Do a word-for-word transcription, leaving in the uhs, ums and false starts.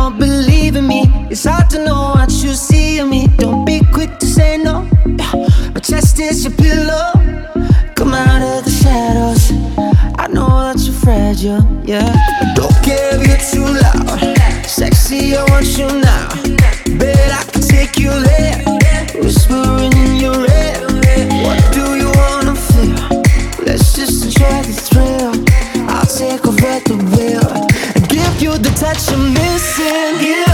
don't believe in me. It's hard to know what you see in me. Don't be quick to say no. My chest is your pillow. Come out of the shadows. I know that you're fragile, yeah. I don't care if you're too loud. Sexy, I want you now. Bet I can take you there. Whispering in your ear. What do you wanna feel? Let's just enjoy the thrill. I'll take over the wheel and give you the touch you're missing. Yeah.